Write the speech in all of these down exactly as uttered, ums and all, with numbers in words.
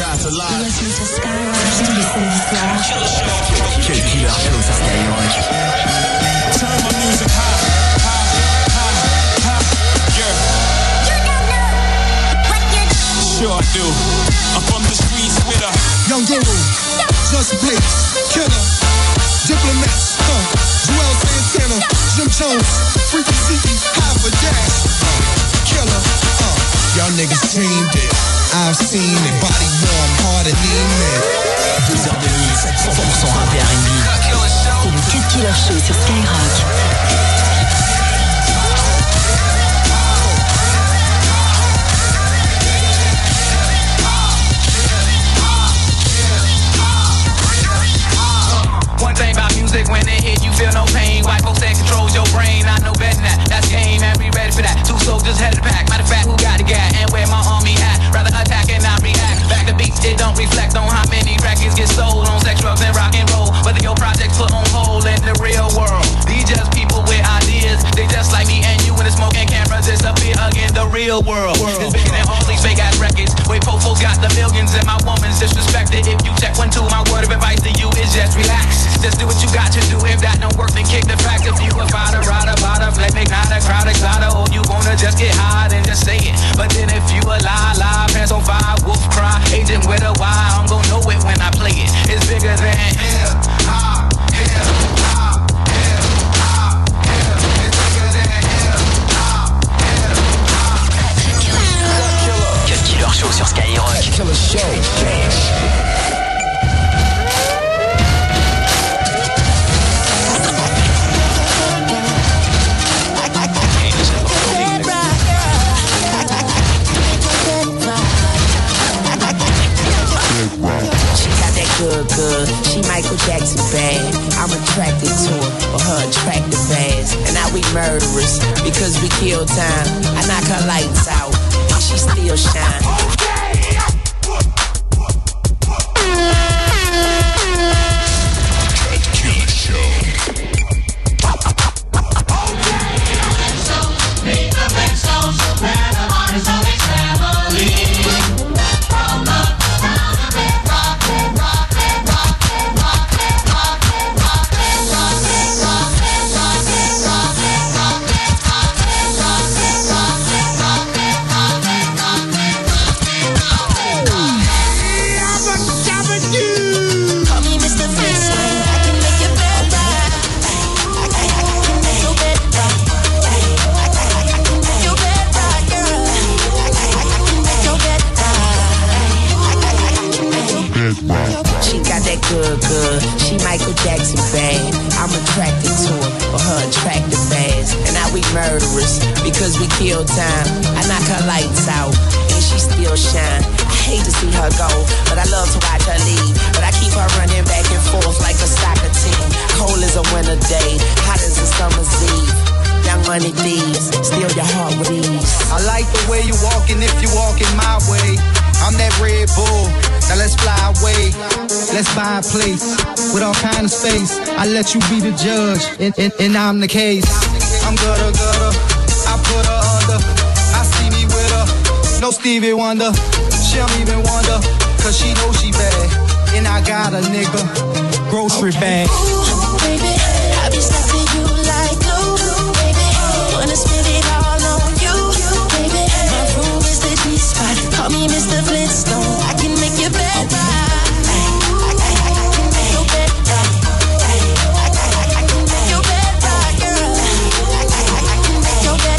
shots alive. Listen to Skyrock, listen to Flash. Quel killer show sur Skyrock. Turn my music high, high, high, high, yeah. You don't know what you're doing. Sure I do. I'm from the streets with a Young Guru, Just Blaze, Killer, Diplomats, huh, Joel Santana, Jim Jones, Freaky Zeke, Half a Dash, uh, Killer, uh, y'all niggas dreamed it. I've seen it, body warm, hard and lean. deux heures de mix, cent pour cent rap et R and B. C'est le Cut Killer Show sur Skyrock. One thing about music, when it hit, you feel no pain. White folks that controls your brain, I know better than that. That's game, and we ready for that. Two soldiers headed the pack. Matter of fact, who got the gat and where my army at? Rather attack and not react. Back to beats, it don't reflect on how many records get sold on sex, drugs, and rock and roll. Whether your project's put on hold in the real world. These just people with ideas. They just like me and you when the smoke and cameras disappear again. The real world is bigger than all these fake ass records. Wait, Pofo's got the millions and my woman's disrespected. If you check one, two, my word of advice to you is just relax. Just do what you got to do. If that don't work, then kick the fact. If you a fighter, rider, bada, let me not a crowd excited. Or you wanna just get high and just say it. But then if you a lie, lie, pants on fire, wolf cry, agent with a Y, I'm gon' know it when I play it. It's bigger than hip hop, hip hop, hip hop, hip. It's bigger than hip hop, hip hop. Cut Killer Show sur Skyrock. Killer Show. Good, good. She Michael Jackson bad. I'm attracted to her for her attractive ass. And now we murderers because we kill time. I knock her lights out and she still shine. Good, good. She Michael Jackson bad. I'm attracted to her for her attractive ass. And now we murderers because we kill time. I knock her lights out and she still shine. I hate to see her go, but I love to watch her leave. But I keep her running back and forth like a soccer team. Cold as a winter day, hot as a summer's eve. Young money thieves, steal your heart with ease. I like the way you walking if you walking my way. I'm that Red Bull, now let's fly away. Let's buy a place with all kind of space. I let you be the judge, and, and, and I'm the case. I'm gutter, gutter, I put her under. I see me with her, no Stevie Wonder. She don't even wonder, cause she know she bad. And I got a nigga, grocery bag. Ooh, baby, I be stuffing you like glue, baby. Wanna spit it all on you, baby. My room is the G-spot. Call me Mister Flintstone. I can make your bed right. I can make your bed right. I can make your bed right, girl. I can make your bed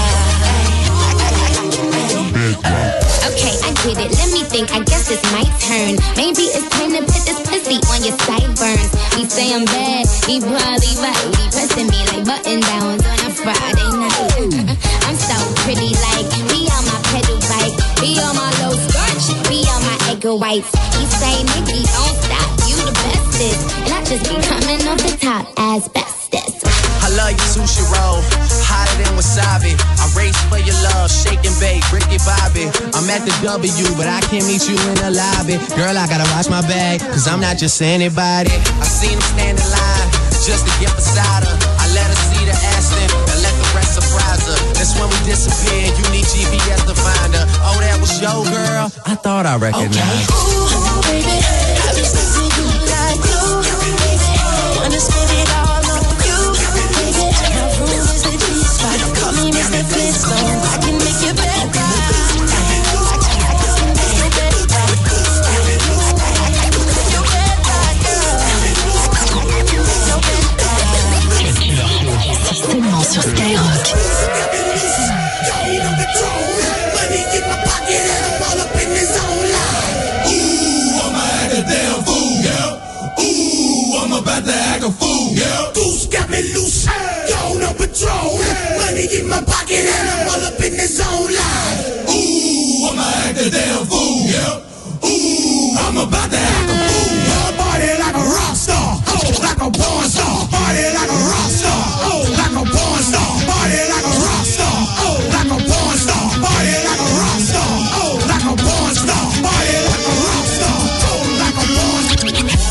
right. Okay, I get it. Let me think. I guess it's my turn. Maybe it's time to put this pussy on your sideburns. He say I'm bad. He probably right. He pressing me like button downs on a Friday night. I'm so pretty, like be on my pedal bike, be on my low skirt, be on my egg whites. He say, Nikki, don't stop. You the bestest, and I just be coming off the top as bestest. I love your sushi roll, hotter than wasabi. I race for your love, shake and bake, Ricky Bobby. I'm at the W, but I can't meet you in the lobby. Girl, I gotta watch my bag, cause I'm not just anybody. I seen him stand in line, just to get beside her. I let her see the Aston, and let the rest surprise her. Then That's when we disappeared. You need G P S to find her. Oh, that was your girl? I thought I recognized. Okay. Ooh, baby, I've been sensing you like glue, baby. Wanna spend it all on you, baby. My room is the G-spot. Call me Mister Flintstone. I can make you better. Seulement sur Skyrock. About to act a fool, yeah. Goose got me loose, going on patrol. Money in my pocket and I'm all up in the zone line. Ooh, I'ma act a damn fool, yeah. Ooh, I'm about to act a fool, yeah. Party like a rock star, oh, like a porn star. Party like a rock star, oh, like a porn star. Party like a rock star, oh, like a porn star. Party like a rock star, oh, like a porn star. Party like a rock star, oh, like a porn star.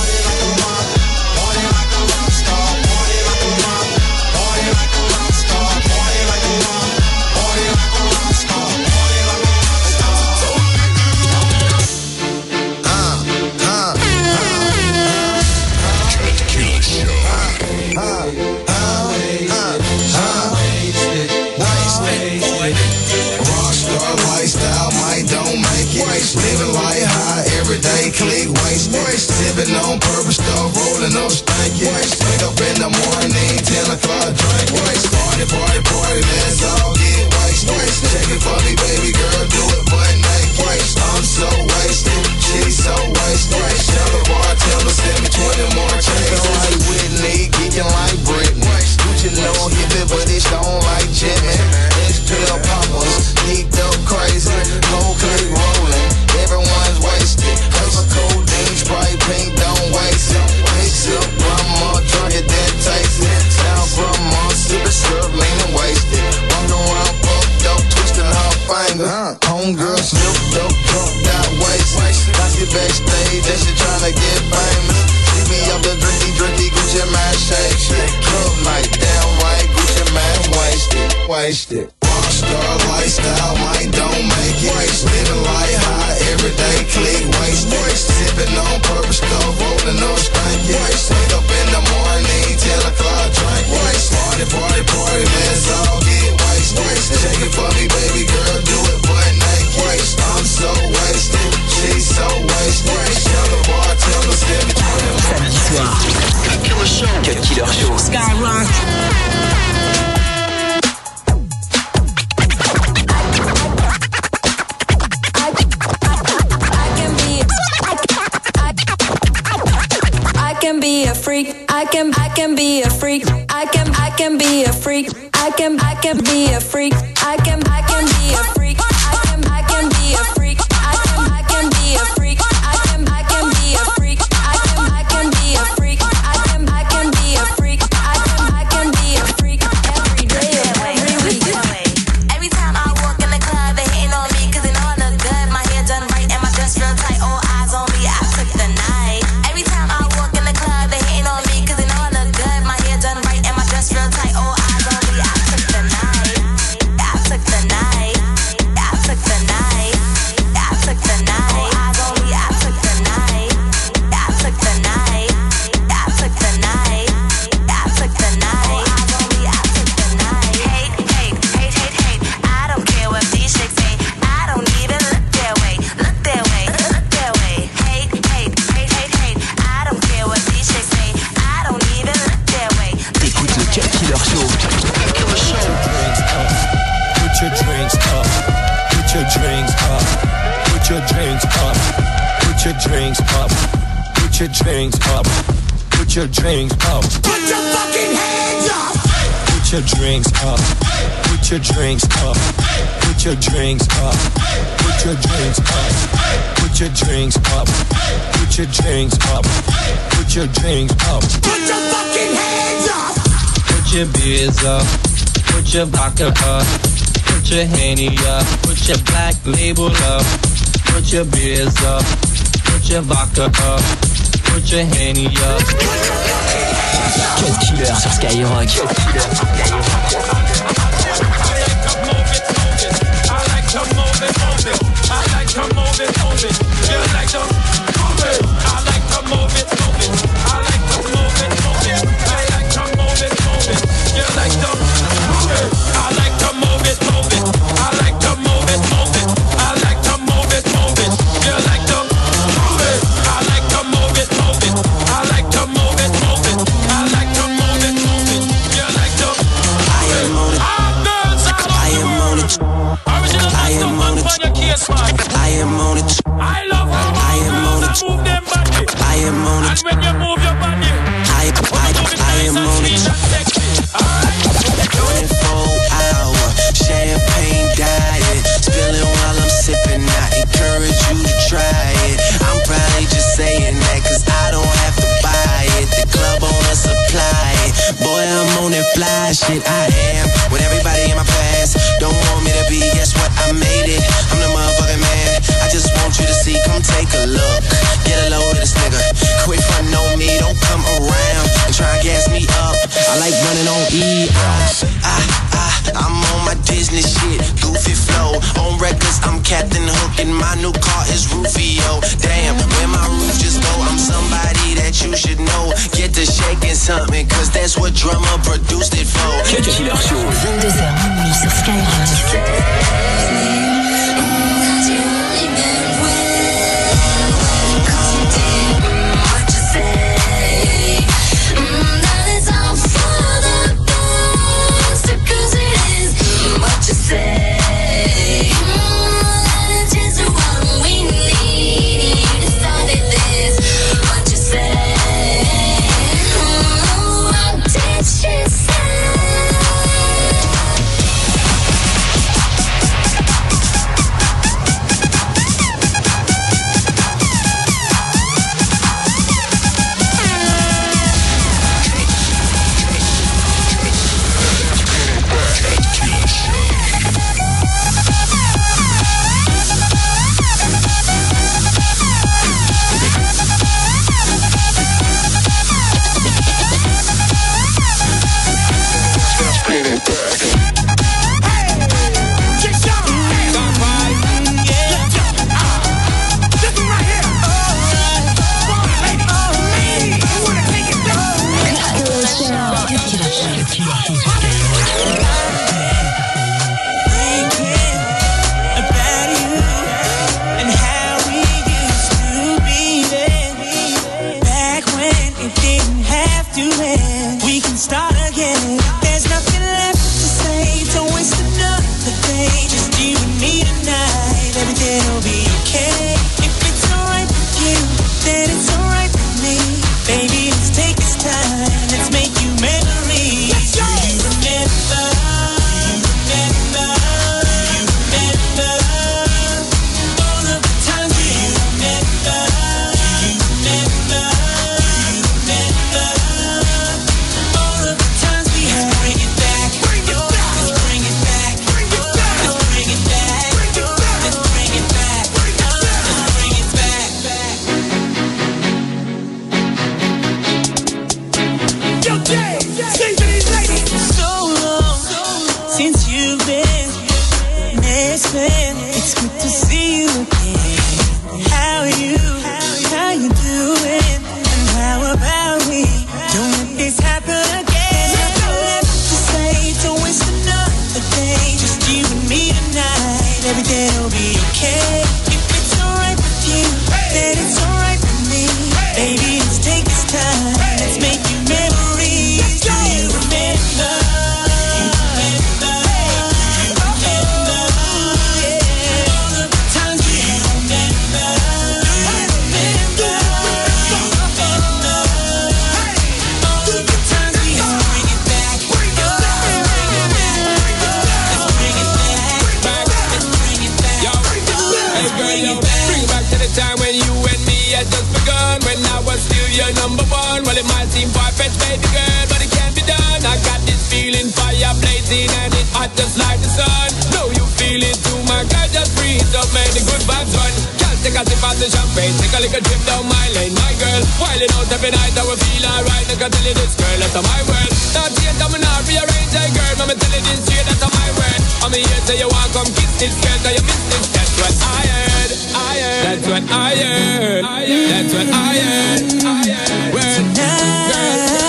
Living like high, everyday click waste. Sipping on purpose stuff, rolling up stanky. Wake up in the morning, ten o'clock drink. Party, party, party, let's all get wasted. Check it for me, baby girl, do it butt naked. I'm so wasted, she's so wasted. Tell the bartender, send me twenty more checks. Like Whitney, geeking like Britney. Gucci no hippie, but it's on like Jimmy. X-Pill poppers, geeked up crazy. Whole click rolling. Everyone's wasted. Have a codeine, Sprite, pink, don't waste it. Mix up, grandma, drunk it, then taste it. Sound grandma, sippin' syrup, lean and wasted. Walk around, fucked up, twisting her finger. Homegirl slipped up, drunk, got wasted. Got it backstage, and she tryna get famous. See me up the drinky, drinky, Gucci man, shake, shake. Club night, damn right, Gucci man, wasted, wasted. Rockstar lifestyle, might don't make it. Living like high, everyday click waste. Sipping on purpose stuff, rolling up stanky. Wake up in the morning, ten o'clock drink. Party, party, party, let's all get wasted. Check it for me, baby girl, do it butt naked. I'm so wasted, she's so wasted. Tell the bartender, send me twenty. Samedi soir, Cut Killer Show. Cut Killer Show. Skyrock. A freak, I can, I can be a freak. I can, I can be a freak. I can, I can be a freak. I can, I can be a freak. I can, I can be a freak. I can, I can be a freak. I can, I can be a freak. I can, I can be a freak. I can, I can be a freak. I can, I can be a freak every day, every week. Every time I walk in the club, they hating on me 'cause they know I look good. My hair done right and my dress real tight. All eyes on me, I took the night. Every time I walk in the club, they hating on me 'cause they know I look good. My hair done right and my dress real tight. All eyes on me, I took the night. I took the night. I took the night. I took the night. All eyes on me, I took the night. I took the night. I took the night. I took the night. All eyes on me, I took the night. Hate, hate, hate, hate, hate. I don't care what these chicks say. I don't even look their way. Look their way. Look their way. Hate, hate, hate, hate, hate. I don't care what these chicks say. I don't even look their way. T'écoutes le Cut Killer Show. Cut Killer Show. Put your drinks up. Put your drinks up. Put your drinks up. Put your drinks up. Put your drinks up. Put your drinks up. Put your fucking hands up. Put your drinks up. Put your drinks up. Put your drinks up. Put your drinks up. Put your drinks up. Put your drinks up. Put your drinks up. Put your fucking hands up. Put your beers up. Put your vodka up. Put your Henny up. Put your black label up. Put your beers up. Put your vodka up. Put your Henny up. Cut Killer sur Skyrock. Cut Killer sur Skyrock. to move it, move it. You like to move it. I like to move it, move it. I like to move it, move it. I like to move it, move it. You like to move it. I like to move it, move it. I like to move it, move it. I like to move it, move it. You like to move it. I like to move it, move it. I like to move it, move it. I like to move it, move it. You like to I am on it. I am on it. I am on it. I am on it. I love how I am on it. Move them body. I am on it. And when you move your body, I I I am on it. twenty-four hour champagne diet, spilling while I'm sipping. I encourage you to try it. I'm probably just saying that 'cause I don't have to buy it. The club owner supply it. Boy, I'm on that fly shit. I am with everybody in my past. Don't want me to be, guess what? I made it. I'm the motherfucking man. I just want you to see, come take a look. Get a load of this nigga. Quit frontin' on me, don't come around and try and gas me up. I like running on E. I, I, I, I'm on my Disney shit, goofy flow. On records, I'm Captain Hook and my new car is Rufio. Damn, where my roof just go, I'm somebody that you should know. Get to shaking something, 'cause that's what drummer produced it for. Cut Killer Show, vingt-deux heures minuit sur Skyrock. take a sip of the champagne, take a little trip down my lane. My girl, wildin' out every night, I will feel alright. I can tell you this, girl, that's my world. Not yet, I'm not rearrange, hey girl, I'ma tell you this straight, that's my word. I'm here, say you want come kiss this girl, cause you miss this. That's what I heard, I heard. That's what I heard, that's what I heard, I heard. Word, girl.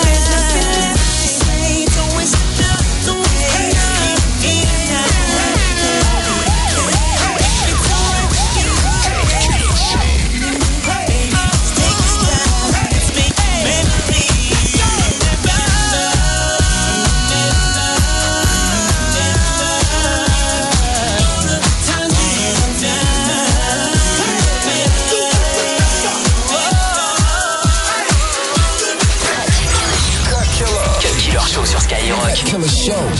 Killer Show.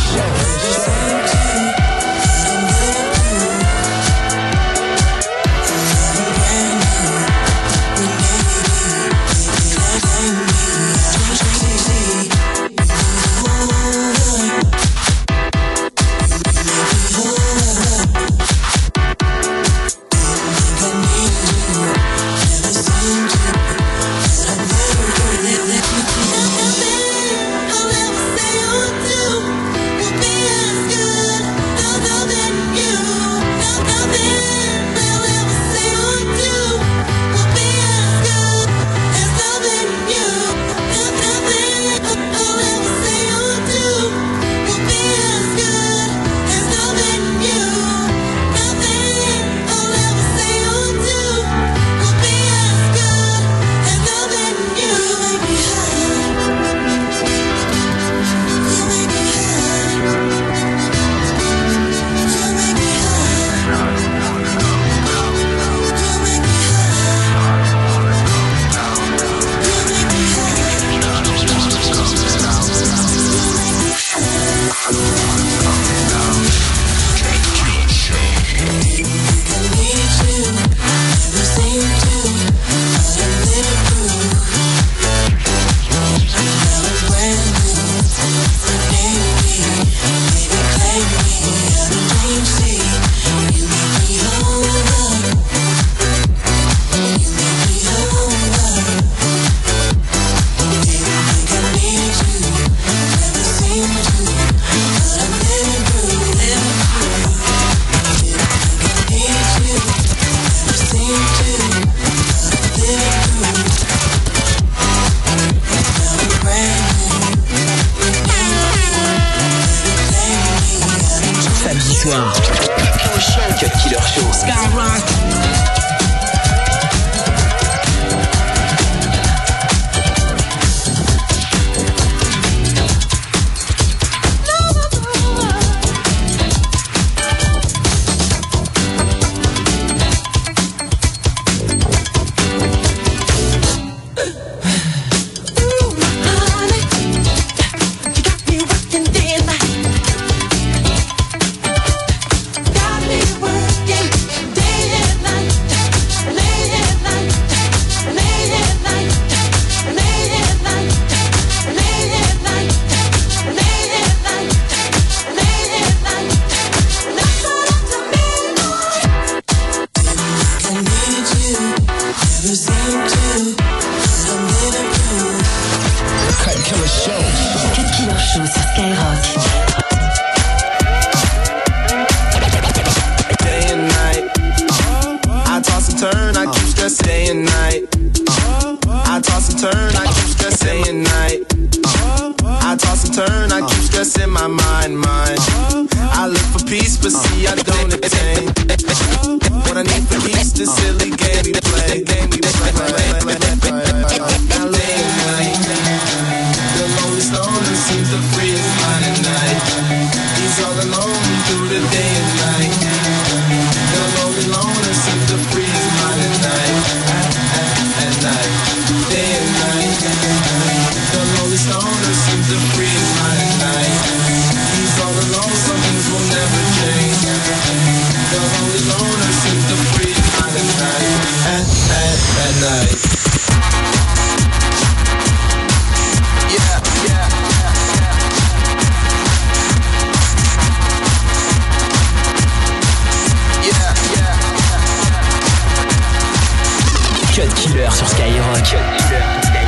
Cut Killer Show. Skyrock. Seems the freest line at night. Cut Killer sur Skyrock. Cut Killer sur Skyrock.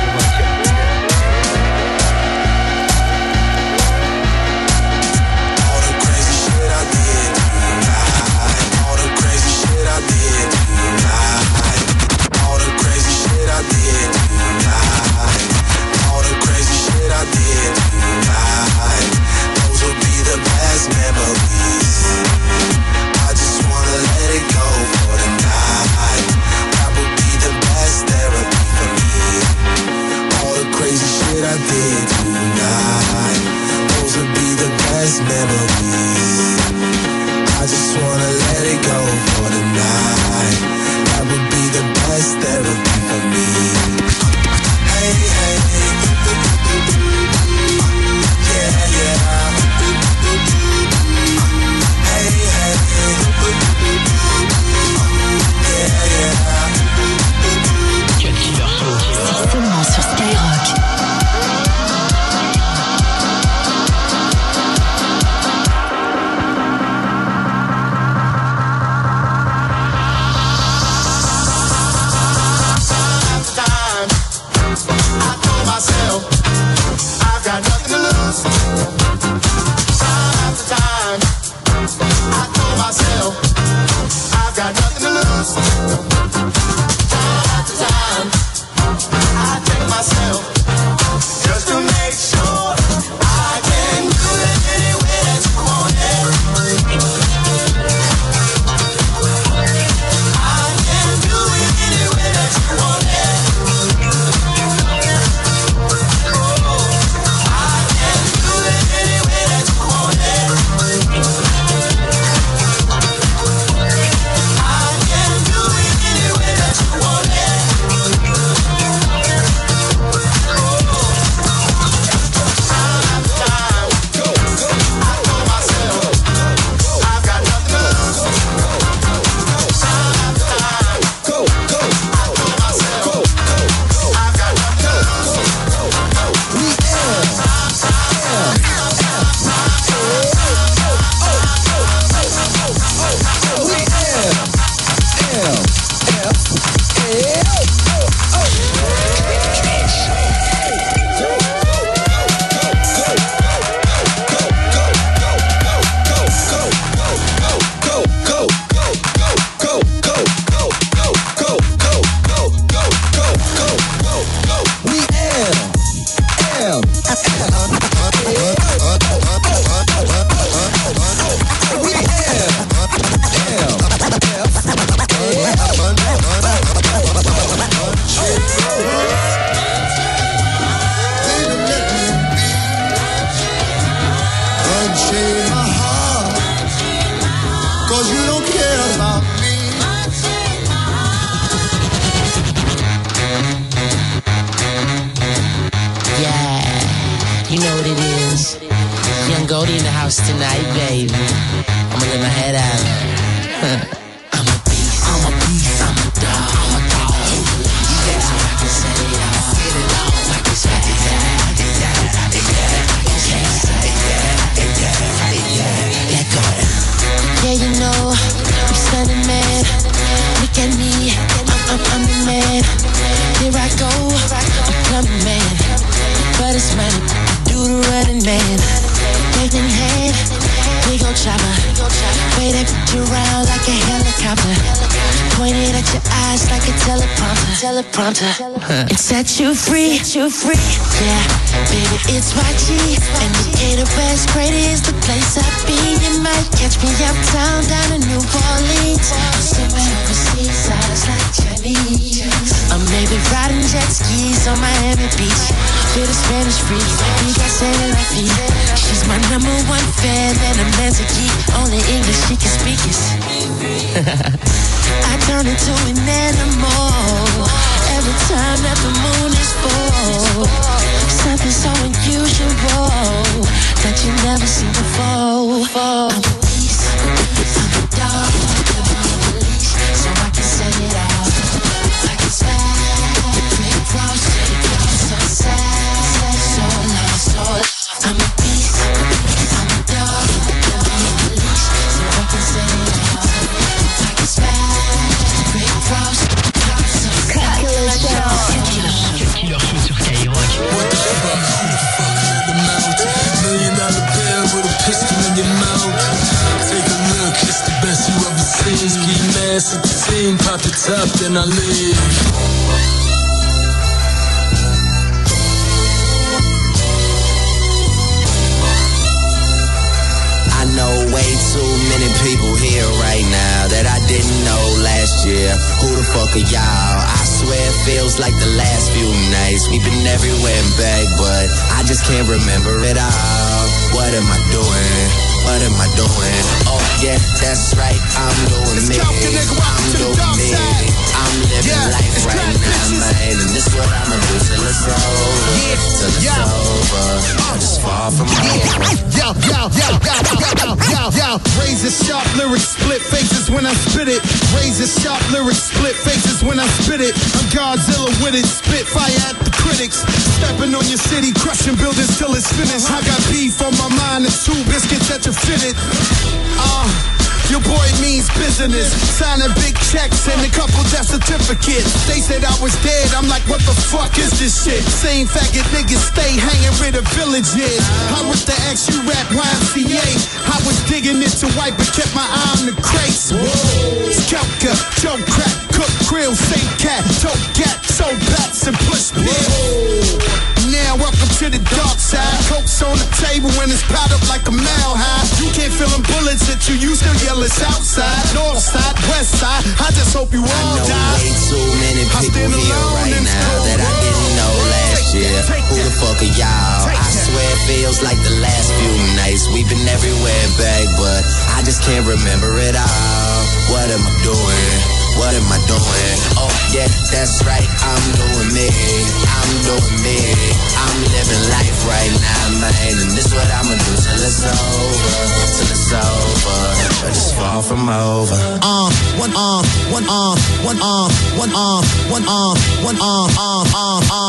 It set you free, set you free. Yeah, baby, it's Y G. Indicator West, great is the place I be. You might catch me uptown, down in New Orleans. I'm sipping overseas, eyes like Chinese. Or maybe riding jet skis on Miami Beach with a Spanish freak. We got sailing like me. She's my number one fan, and a man's a geek. Only English she can speak is. I turn into an animal every time that the moon is full. Something so unusual that you never seen before. I'm a beast, I'm a dog, I'm a leash, so I can set it out. I can slide, pretty close, so sad, so lost, so lost. I'm a beast, I'm a dog, I'm a leash, so I can set it out. I can slide, pretty close. up, then I leave. I know way too many people here right now that I didn't know last year. Who the fuck are y'all? I swear it feels like the last few nights. We've been everywhere and back, but I just can't remember it all. What am I doing? What am I doing? Oh yeah, that's right, I'm doing me. I'm doing me. I'm living yeah, life right now, man, and this what I'ma do till it's over. Yeah, till it's yeah. over. I just fall from my Yo, yo, yo, yo, yo, yo, yo. Razor sharp lyrics, split faces when I spit it. Razor sharp lyrics, split faces when I spit it. I'm Godzilla with it, spit fire at the critics. Stepping on your city, crushing buildings till it's finished. I got beef on my mind and two biscuits that you fitted. Uh, your boy means business. Signing big checks and a couple death certificates. They said I was dead, I'm like, what the fuck is this shit? Same faggot niggas stay hanging where the village is. I was the ex you rap Y M C A. I was digging it to wipe but kept my eye on the crates. Skelka, Joe Crack, Cook Grill, Saint Cat, Toe Cat, Soul Bats and Push Pit. Now welcome to the dark side. Coke's on the table when it's piled up like a mile high. You can't feel them bullets at you, you still yell it's outside. North side, west side, I just hope you all I know die. way too many people here right now that I didn't know last year. Who the fuck are y'all? I swear it feels like the last few nights. We've been everywhere and back, but I just can't remember it all. What am I doing? What am I doing? Oh yeah, that's right, I'm doing me. I'm doing me. I'm living life right now, man, and this what I'ma do till it's over. Till it's over. I just fall from over. Uh, one arm, one arm, one arm, one arm, one arm, one arm, arm, arm, arm.